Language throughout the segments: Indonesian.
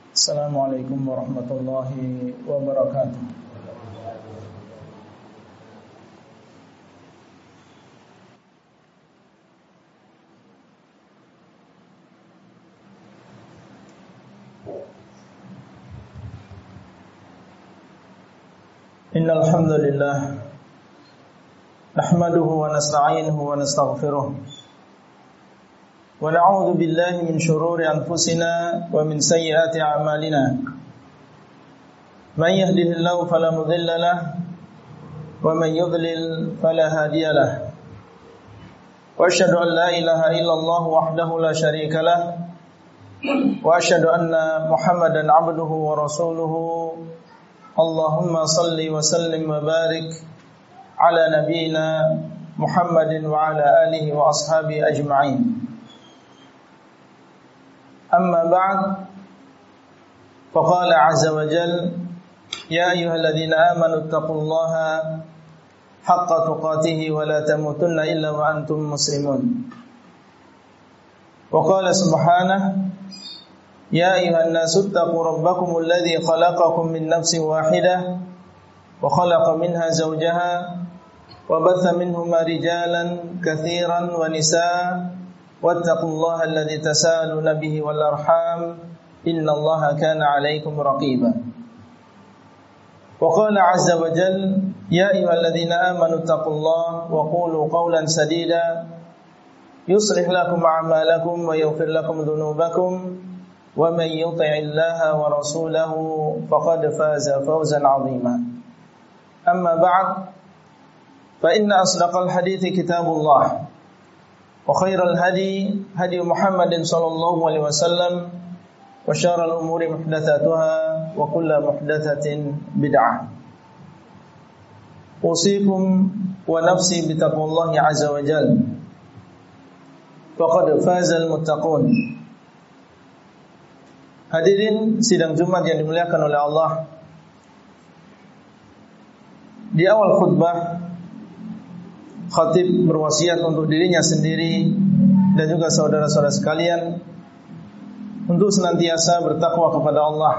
Assalamualaikum warahmatullahi wabarakatuh. Innal hamdalillah nahmaduhu wa nasta'inuhu wa nastaghfiruh wa na'udzu billahi min shururi anfusina wa min sayyiati a'malina. Man yahdihillahu fala mudilla lahu wa man yudlil fala hadiya lahu. Wa asyhadu an la ilaha illallah wahdahu la syarika lahu wa asyhadu anna Muhammadan 'abduhu wa rasuluhu. Allahumma salli wa sallim wa barik ala nabiyyina Muhammadin wa ala alihi wa ashabihi ajma'in. Amma ba'd, faqala 'azza wa jalla ya ayyuhalladzina amanu taqullaha haqqa tuqatih wa la tamutunna illa wa antum muslimun. Wa qala subhanahu ya ayuhan nasu taqu rabbakumul ladzi khalaqakum min nafsin wahidah wa khalaqa minha zawjaha wa batha minhuma rijalan katsiran wa nisaa wattaqullaha alladzi tasaaluna bihi wal arham innallaha kana 'alaikum raqiba. Wa qala 'azza wa jalla ya ayyuhalladzina amanu taqullaha wa qulu qawlan sadida yuslih lakum a'malakum wa yaghfir lakum dhunubakum wa man yuti'illaha wa rasulahu faqad faza fawzan 'azima. Amma ba'd, fa inna asdaqal hadithi kitabullah wa khairal hadi hadi Muhammadin sallallahu alaihi wasallam wa syarral umuri muhdatsatuha wa kullu muhdatsatin bid'ah. Usikum wa nafsi bitaqwallahi 'azza wa jalla faqad fazal muttaqun. Hadirin sidang Jumat yang dimuliakan oleh Allah, di awal khutbah khatib berwasiat untuk dirinya sendiri dan juga saudara-saudara sekalian untuk senantiasa bertakwa kepada Allah.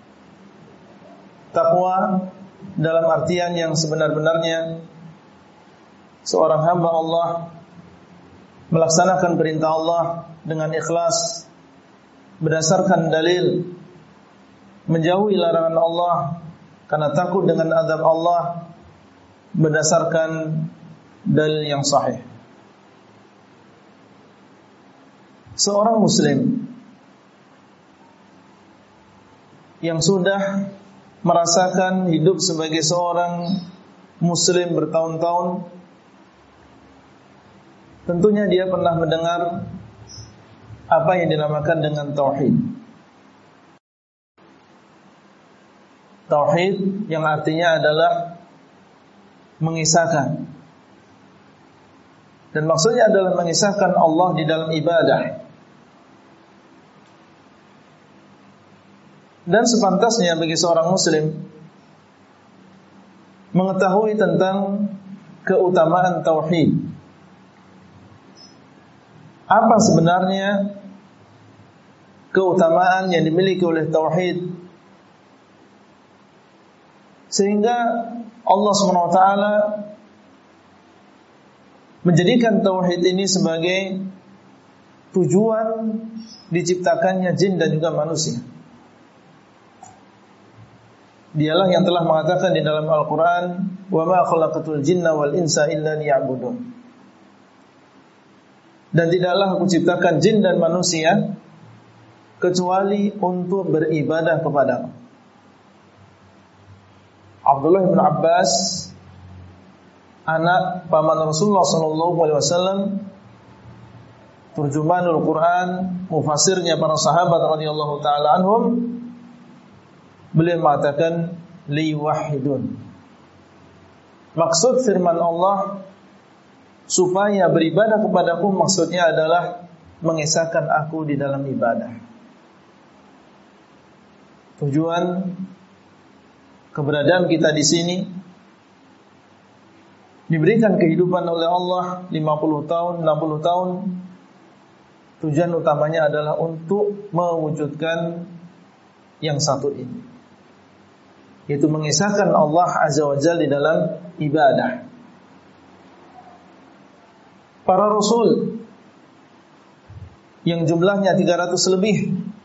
Takwa dalam artian yang sebenar-benarnya seorang hamba Allah melaksanakan perintah Allah dengan ikhlas berdasarkan dalil, menjauhi larangan Allah karena takut dengan azab Allah berdasarkan dalil yang sahih. Seorang muslim yang sudah merasakan hidup sebagai seorang muslim bertahun-tahun, tentunya dia pernah mendengar apa yang dinamakan dengan tauhid. Tauhid yang artinya adalah mengisahkan, dan maksudnya adalah mengisahkan Allah di dalam ibadah. Dan sepantasnya bagi seorang muslim mengetahui tentang keutamaan tauhid. Apa sebenarnya keutamaan yang dimiliki oleh tauhid, sehingga Allah SWT menjadikan tauhid ini sebagai tujuan diciptakannya jin dan juga manusia. Dialah yang telah mengatakan di dalam Al-Quran, wa ma khalaqatul jinna wal insa illa liya'budun. Dan tidaklah aku ciptakan jin dan manusia kecuali untuk beribadah kepada-Mu. Abdullah bin Abbas, anak paman Rasulullah SAW, turjumanul Quran, mufassirnya para sahabat radhiyallahu taala anhum, beliau mengatakan liwahidun. Maksud firman Allah supaya beribadah kepadaku, maksudnya adalah mengesahkan aku di dalam ibadah. Tujuan keberadaan kita di sini, diberikan kehidupan oleh Allah 50 tahun, 60 tahun, tujuan utamanya adalah untuk mewujudkan yang satu ini, yaitu mengesahkan Allah Azza wa Jalla di dalam ibadah. Para rasul yang jumlahnya 300 lebih,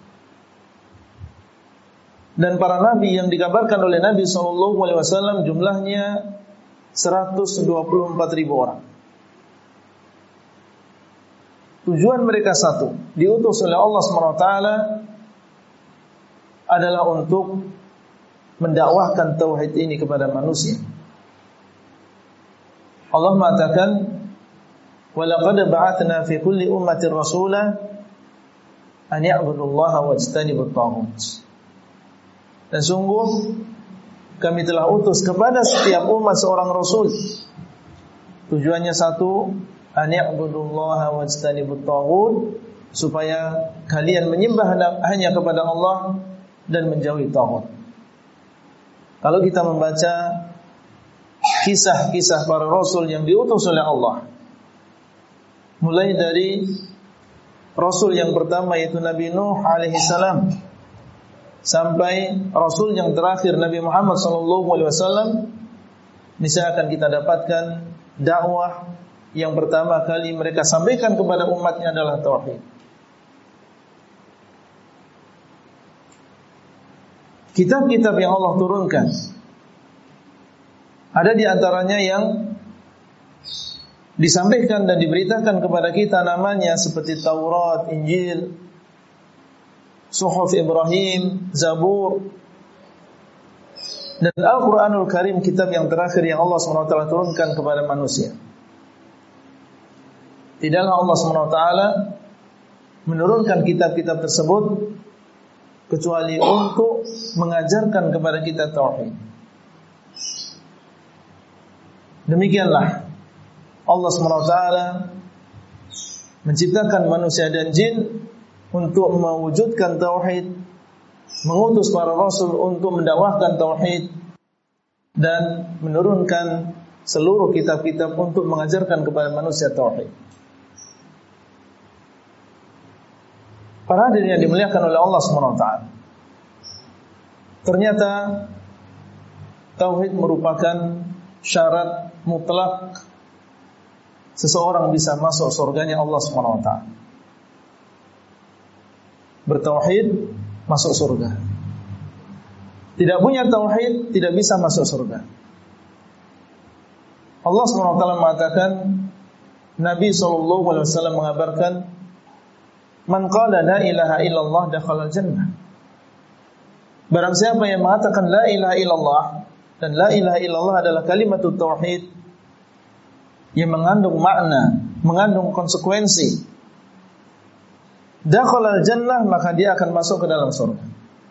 dan para nabi yang dikabarkan oleh Nabi SAW jumlahnya 124.000 orang. Tujuan mereka satu, diutus oleh Allah SWT adalah untuk mendakwahkan tauhid ini kepada manusia. Allah mengatakan, "Walaqad ba'atsna fi kulli ummatin rasula an ya'budullaha wajtanibut taghut." Dan sungguh kami telah utus kepada setiap umat seorang rasul. Tujuannya satu, an ya'budullaha wajtanibut taghut, supaya kalian menyembah hanya kepada Allah dan menjauhi taghut. Kalau kita membaca kisah-kisah para rasul yang diutus oleh Allah, mulai dari rasul yang pertama yaitu Nabi Nuh alaihi salam sampai rasul yang terakhir Nabi Muhammad sallallahu alaihi wasallam, niscaya akan kita dapatkan dakwah yang pertama kali mereka sampaikan kepada umatnya adalah tauhid. Kitab-kitab yang Allah turunkan, ada di antaranya yang disampaikan dan diberitakan kepada kita namanya seperti Taurat, Injil, Suhuf Ibrahim, Zabur, dan Al-Quranul Karim, kitab yang terakhir yang Allah SWT turunkan kepada manusia. Tidaklah Allah SWT menurunkan kitab-kitab tersebut kecuali untuk mengajarkan kepada kita tauhid. Demikianlah Allah SWT menciptakan manusia dan jin untuk mewujudkan tauhid, mengutus para rasul untuk mendakwahkan tauhid, dan menurunkan seluruh kitab-kitab untuk mengajarkan kepada manusia tauhid. Para hadirin yang dimuliakan oleh Allah SWT, ternyata tauhid merupakan syarat mutlak seseorang bisa masuk surganya Allah SWT. Bertauhid masuk surga. Tidak punya tauhid tidak bisa masuk surga. Allah SWT mengatakan, Nabi SAW mengabarkan, "Man qala la ilaha illallah dakhala al-jannah." Barang siapa yang mengatakan la ilaha illallah, dan la ilaha illallah adalah kalimatut tauhid yang mengandung makna, mengandung konsekuensi, dakhala al-jannah, maka dia akan masuk ke dalam surga.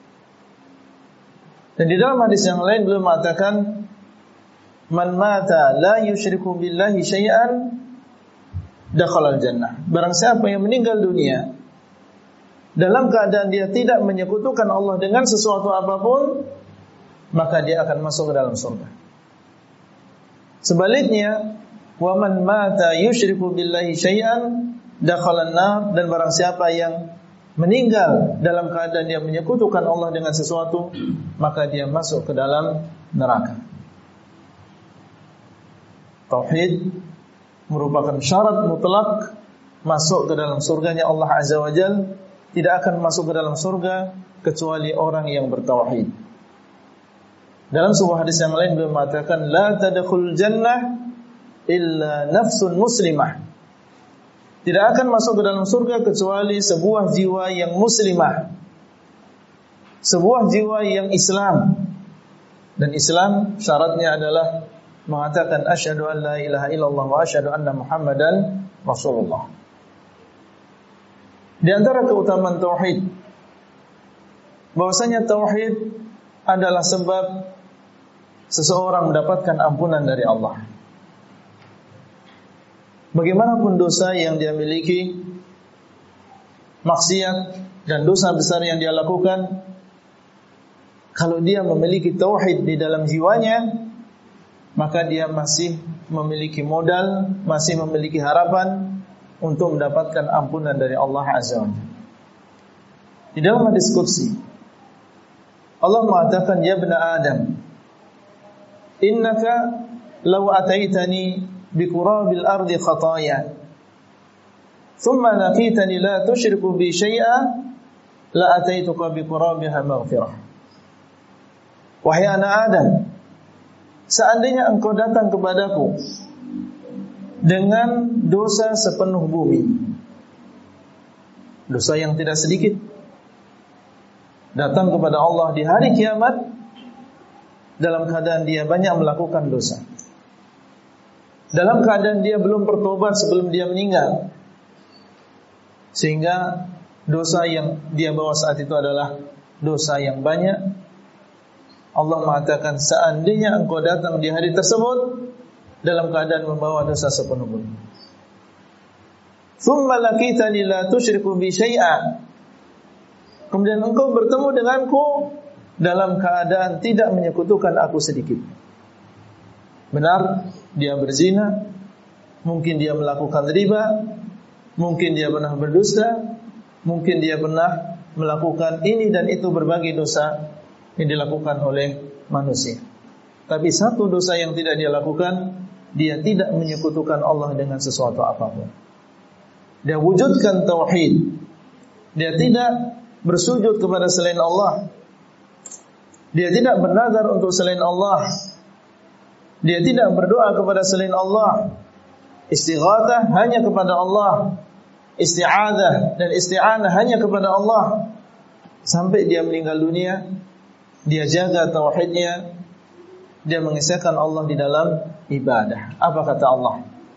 Dan di dalam hadis yang lain beliau mengatakan, "Man mata la yusyriku billahi syai'an dakhala al-jannah." Barang siapa yang meninggal dunia dalam keadaan dia tidak menyekutukan Allah dengan sesuatu apapun, maka dia akan masuk ke dalam surga. Sebaliknya, wa man mata yusyriku billahi syai'an dakhala an-nar, dan barang siapa yang meninggal dalam keadaan dia menyekutukan Allah dengan sesuatu, maka dia masuk ke dalam neraka. Tauhid merupakan syarat mutlak masuk ke dalam surganya Allah Azza wa Jalla. Tidak akan masuk ke dalam surga kecuali orang yang bertauhid. Dalam sebuah hadis yang lain beliau mengatakan, "La tadkhul jannah illa nafsun muslimah." Tidak akan masuk ke dalam surga kecuali sebuah jiwa yang muslimah, sebuah jiwa yang Islam. Dan Islam syaratnya adalah mengatakan asyhadu an la ilaha illallah wa asyhadu anna Muhammadan Rasulullah. Di antara keutamaan tauhid, bahwasanya tauhid adalah sebab seseorang mendapatkan ampunan dari Allah. Bagaimanapun dosa yang dia miliki, maksiat dan dosa besar yang dia lakukan, kalau dia memiliki tauhid di dalam jiwanya, maka dia masih memiliki modal, masih memiliki harapan untuk mendapatkan ampunan dari Allah Azza wa Jalla. Di dalam hadis qudsi, Allah mengatakan, ya ibna Adam, innaka law ataitani biqurabil ardi khataya thumma laqitani la tusyriku bi syai'a la ataituka biqurabiha maghfirah. Wahai anak Adam, seandainya engkau datang kepadaku dengan dosa sepenuh bumi, dosa yang tidak sedikit, datang kepada Allah di hari kiamat dalam keadaan dia banyak melakukan dosa, dalam keadaan dia belum bertobat sebelum dia meninggal, sehingga dosa yang dia bawa saat itu adalah dosa yang banyak. Allah mengatakan, seandainya engkau datang di hari tersebut dalam keadaan membawa dosa sepenuh bumi, thumma laqitani la tusyriku bi syai'a, kemudian engkau bertemu denganku dalam keadaan tidak menyekutukan aku sedikit. Benar, dia berzina, mungkin dia melakukan riba, mungkin dia pernah berdusta, mungkin dia pernah melakukan ini dan itu, berbagai dosa yang dilakukan oleh manusia. Tapi satu dosa yang tidak dia lakukan, dia tidak menyekutukan Allah dengan sesuatu apapun. Dia wujudkan tauhid. Dia tidak bersujud kepada selain Allah. Dia tidak bernazar untuk selain Allah. Dia tidak berdoa kepada selain Allah. Istighatsah hanya kepada Allah. Isti'adzah dan isti'anah hanya kepada Allah. Sampai dia meninggal dunia, dia jaga tauhidnya, dia mengisahkan Allah di dalam ibadah. Apa kata Allah?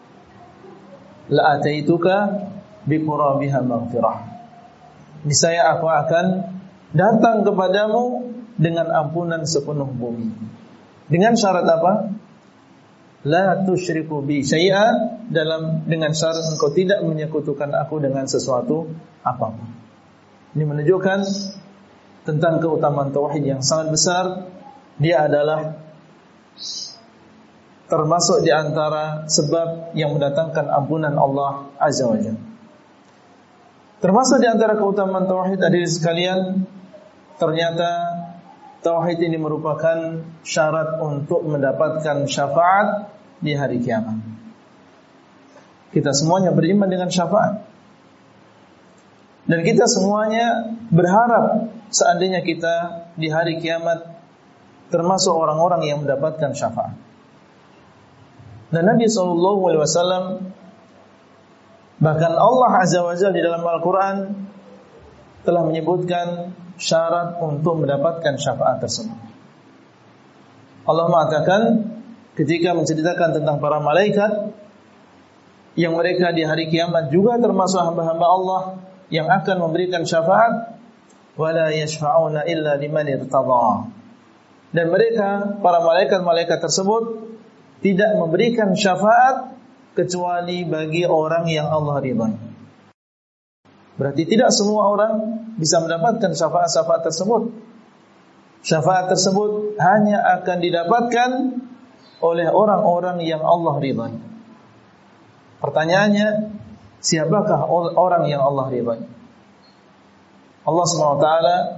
La ataituka biqurabiha maghfirah. Niscaya aku akan datang kepadamu dengan ampunan sepenuh bumi. Dengan syarat apa? La tusyriku bi syai'a, dengan syarat engkau tidak menyekutukan aku dengan sesuatu apapun. Ini menunjukkan tentang keutamaan tauhid yang sangat besar. Dia adalah termasuk di antara sebab yang mendatangkan ampunan Allah Azza wa Jalla. Termasuk di antara keutamaan tauhid, hadirin sekalian, ternyata tauhid ini merupakan syarat untuk mendapatkan syafaat di hari kiamat. Kita semuanya beriman dengan syafaat, dan kita semuanya berharap seandainya kita di hari kiamat termasuk orang-orang yang mendapatkan syafaat. Dan Nabi SAW, bahkan Allah Azza wa Jalla di dalam Al-Quran telah menyebutkan syarat untuk mendapatkan syafaat tersebut. Allah mengatakan ketika menceritakan tentang para malaikat yang mereka di hari kiamat juga termasuk hamba-hamba Allah yang akan memberikan syafaat, wala yashfa'una illa liman irtadha. Dan mereka, para malaikat-malaikat tersebut, tidak memberikan syafaat kecuali bagi orang yang Allah ridhai. Berarti tidak semua orang bisa mendapatkan syafaat-syafaat tersebut. Syafaat tersebut hanya akan didapatkan oleh orang-orang yang Allah ridhai. Pertanyaannya, siapakah orang yang Allah ridhai? Allah SWT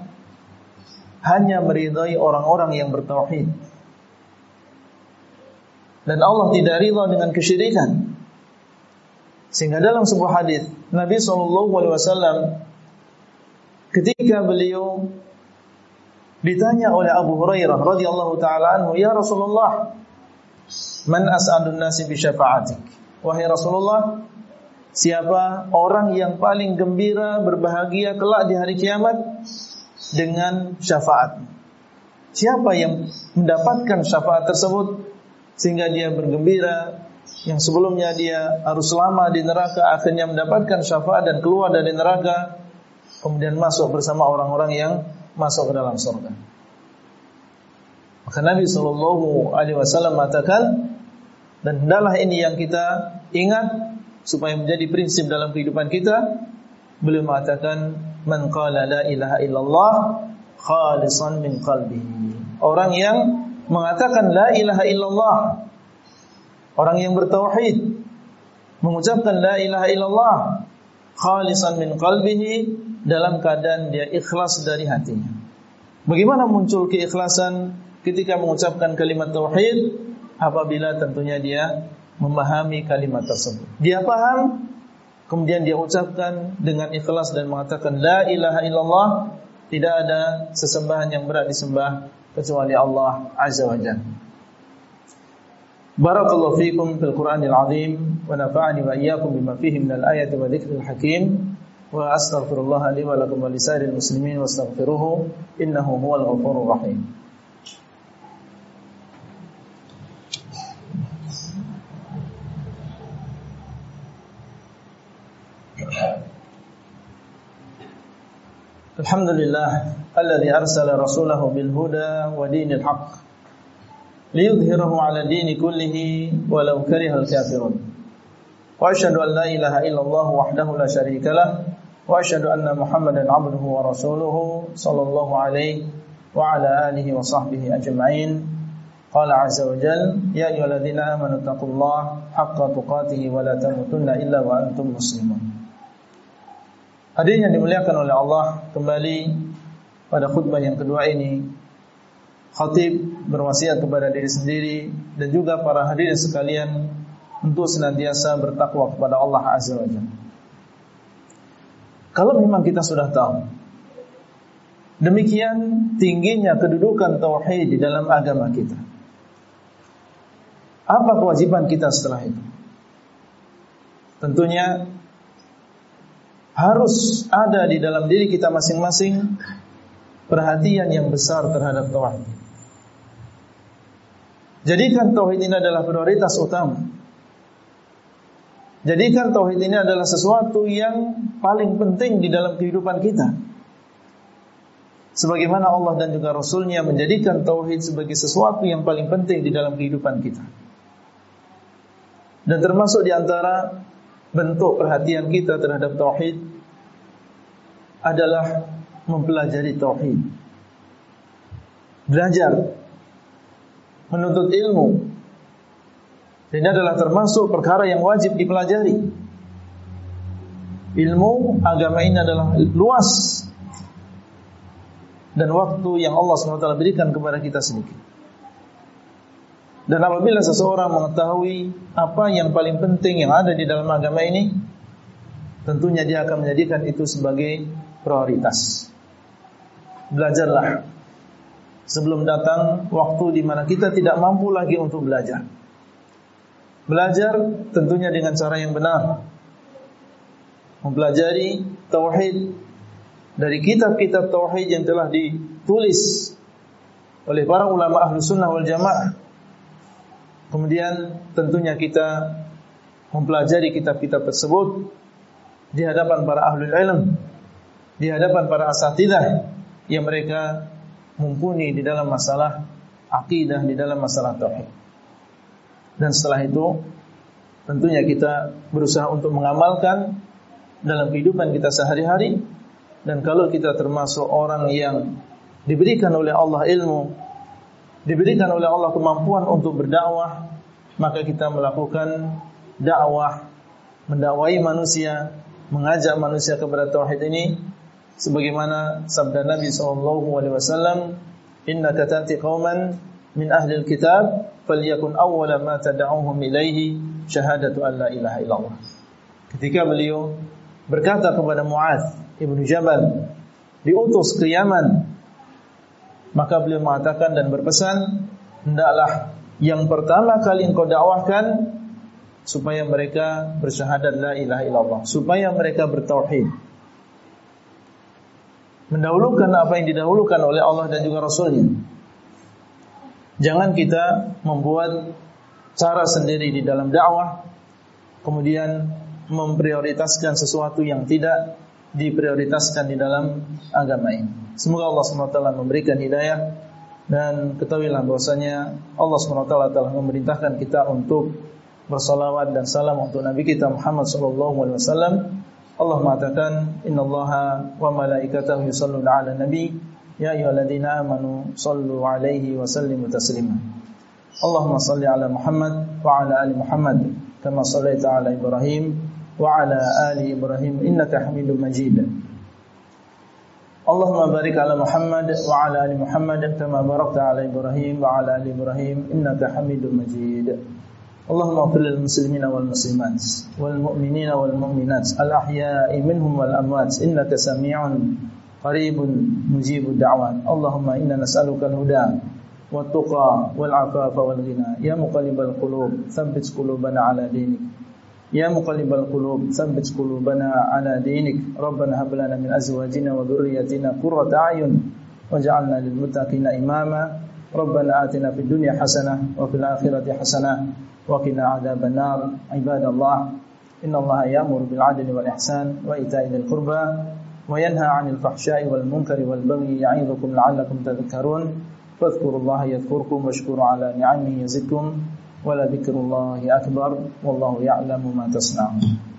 hanya meridhai orang-orang yang bertauhid. Dan Allah tidak ridha dengan kesyirikan. Sehingga dalam sebuah hadis Nabi SAW ketika beliau ditanya oleh Abu Hurairah radhiyallahu taala anhu, "Ya Rasulullah, man as'adun nasi bi syafa'atik?" Wahai Rasulullah, siapa orang yang paling gembira, berbahagia kelak di hari kiamat dengan syafaat? Siapa yang mendapatkan syafaat tersebut sehingga dia bergembira, yang sebelumnya dia harus lama di neraka, akhirnya mendapatkan syafaat dan keluar dari neraka, kemudian masuk bersama orang-orang yang masuk ke dalam surga. Maka Nabi SAW mengatakan, dan hendaklah ini yang kita ingat supaya menjadi prinsip dalam kehidupan kita. Beliau mengatakan, man qala la ilaha illallah khalisan min qalbihi. Orang yang mengatakan la ilaha illallah, orang yang bertauhid, mengucapkan la ilaha illallah khalisan min qalbihi, dalam keadaan dia ikhlas dari hatinya. Bagaimana muncul keikhlasan ketika mengucapkan kalimat tauhid? Apabila tentunya dia memahami kalimat tersebut. Dia paham, kemudian dia ucapkan dengan ikhlas dan mengatakan la ilaha illallah, tidak ada sesembahan yang berhak disembah kecuali Allah Azza wa Jalla. Barakallahu fikum fil Qur'anil azim wa nafa'ani wa iyyakum bima fihi minal ayati wa dzikril hakim wa astaghfirullah li wa lakum wa lisairil muslimin wastaghfiruhu innahu huwal ghafurur rahim. Alhamdulillah alladzi arsala rasulahu bil huda wa dinil haqq liyudhhirahu 'ala dini kullihi walau karihal kafirun. Wa asyhadu an la ilaha illallah wahdahu la syarika lah wa asyhadu anna Muhammadan 'abduhu wa rasuluhu sallallahu alaihi wa ala alihi wa sahbihi ajma'in. Qala 'azza wa jalla ya ayyuhalladzina amanu taqullaha haqqa tuqatih wa la tamutunna illa wa antum muslimun. Hadirin yang dimuliakan oleh Allah, kembali pada khutbah yang kedua ini khatib berwasiat kepada diri sendiri dan juga para hadirin sekalian untuk senantiasa bertakwa kepada Allah Azza wa Jalla. Kalau memang kita sudah tahu demikian tingginya kedudukan tauhid di dalam agama kita, apa kewajiban kita setelah itu? Tentunya harus ada di dalam diri kita masing-masing perhatian yang besar terhadap tauhid. Jadikan tauhid ini adalah prioritas utama. Jadikan tauhid ini adalah sesuatu yang paling penting di dalam kehidupan kita. Sebagaimana Allah dan juga Rasul-Nya menjadikan tauhid sebagai sesuatu yang paling penting di dalam kehidupan kita. Dan termasuk di antara bentuk perhatian kita terhadap tauhid adalah mempelajari tauhid. Belajar, menuntut ilmu. Ini adalah termasuk perkara yang wajib dipelajari. Ilmu agama ini adalah luas dan waktu yang Allah SWT berikan kepada kita sedikit. Dan apabila seseorang mengetahui apa yang paling penting yang ada di dalam agama ini, tentunya dia akan menjadikan itu sebagai prioritas. Belajarlah sebelum datang waktu di mana kita tidak mampu lagi untuk belajar. Belajar tentunya dengan cara yang benar. Mempelajari tauhid dari kitab-kitab tauhid yang telah ditulis oleh para ulama Ahlus Sunnah wal Jamaah. Kemudian tentunya kita mempelajari kitab-kitab tersebut di hadapan para ahlul ilm, di hadapan para asatidzah yang mereka mumpuni di dalam masalah akidah, di dalam masalah tauhid. Dan setelah itu tentunya kita berusaha untuk mengamalkan dalam kehidupan kita sehari-hari. Dan kalau kita termasuk orang yang diberikan oleh Allah ilmu, diberikan oleh Allah kemampuan untuk berdakwah, maka kita melakukan dakwah, mendakwai manusia, mengajak manusia kepada tauhid ini sebagaimana sabda Nabi SAW, innaka ta'ti qauman min ahli alkitab falyakun awwala ma tad'uhum ilaihi syahadatu an la ilaha illallah. Ketika beliau berkata kepada Mu'adz ibnu Jabal, diutus ke Yaman, maka beliau mengatakan dan berpesan, hendaklah yang pertama kali engkau dakwahkan supaya mereka bersyahadat la ilaha illallah, supaya mereka bertauhid. Mendahulukan apa yang didahulukan oleh Allah dan juga Rasul-Nya. Jangan kita membuat cara sendiri di dalam dakwah, kemudian memprioritaskan sesuatu yang tidak diprioritaskan di dalam agama ini. Semoga Allah SWT memberikan hidayah. Dan ketahuilah bahwasanya Allah SWT telah memerintahkan kita untuk bersalawat dan salam untuk Nabi kita Muhammad SAW. Allah mengatakan, innallaha wa malaikatahu yusalluna ala nabi ya ayyuhalladzina amanu sallu alaihi wa sallimu taslima. Allahumma salli ala Muhammad wa ala ali Muhammad kama sallaita ala Ibrahim wa ala ali Ibrahim innaka Hamidum Majid. Allahumma barik ala Muhammad wa ala ali Muhammad kama barakta ala Ibrahim wa ala ali Ibrahim innaka Hamidum Majid. Allahumma ighfir lil muslimina wal muslimat wal mu'minina wal mu'minat al ahya'i minhum wal amwat innaka sami'un qaribun mujibud da'wat. Allahumma inna nas'aluka al-huda wat tuqa wal afafa wal ghina. Ya muqallibal qulub tsabbit qulubana ala dinik. Ya muqallibal qulub tsabbit qulubana ala dinik. Rabbana hab lana min azwajina wa dhurriyyatina qurrata a'yun waj'alna lil muttaqina imama. Rabbana atina fid dunya hasanah wa fil akhirati hasanah wa qina adzaban nar. Ibadallah, innallaha ya'muru bil 'adli wal ihsan wa ita'i dzil qurba wa yanha 'anil fahsya'i wal munkari wal baghi ya'idzukum la'allakum tadhakkarun. Fadhkurullaha yadhkurkum washkuru 'ala ni'amihi yazidkum. Wala dzikrullahi akbar wallahu ya'lamu ma tasna'un.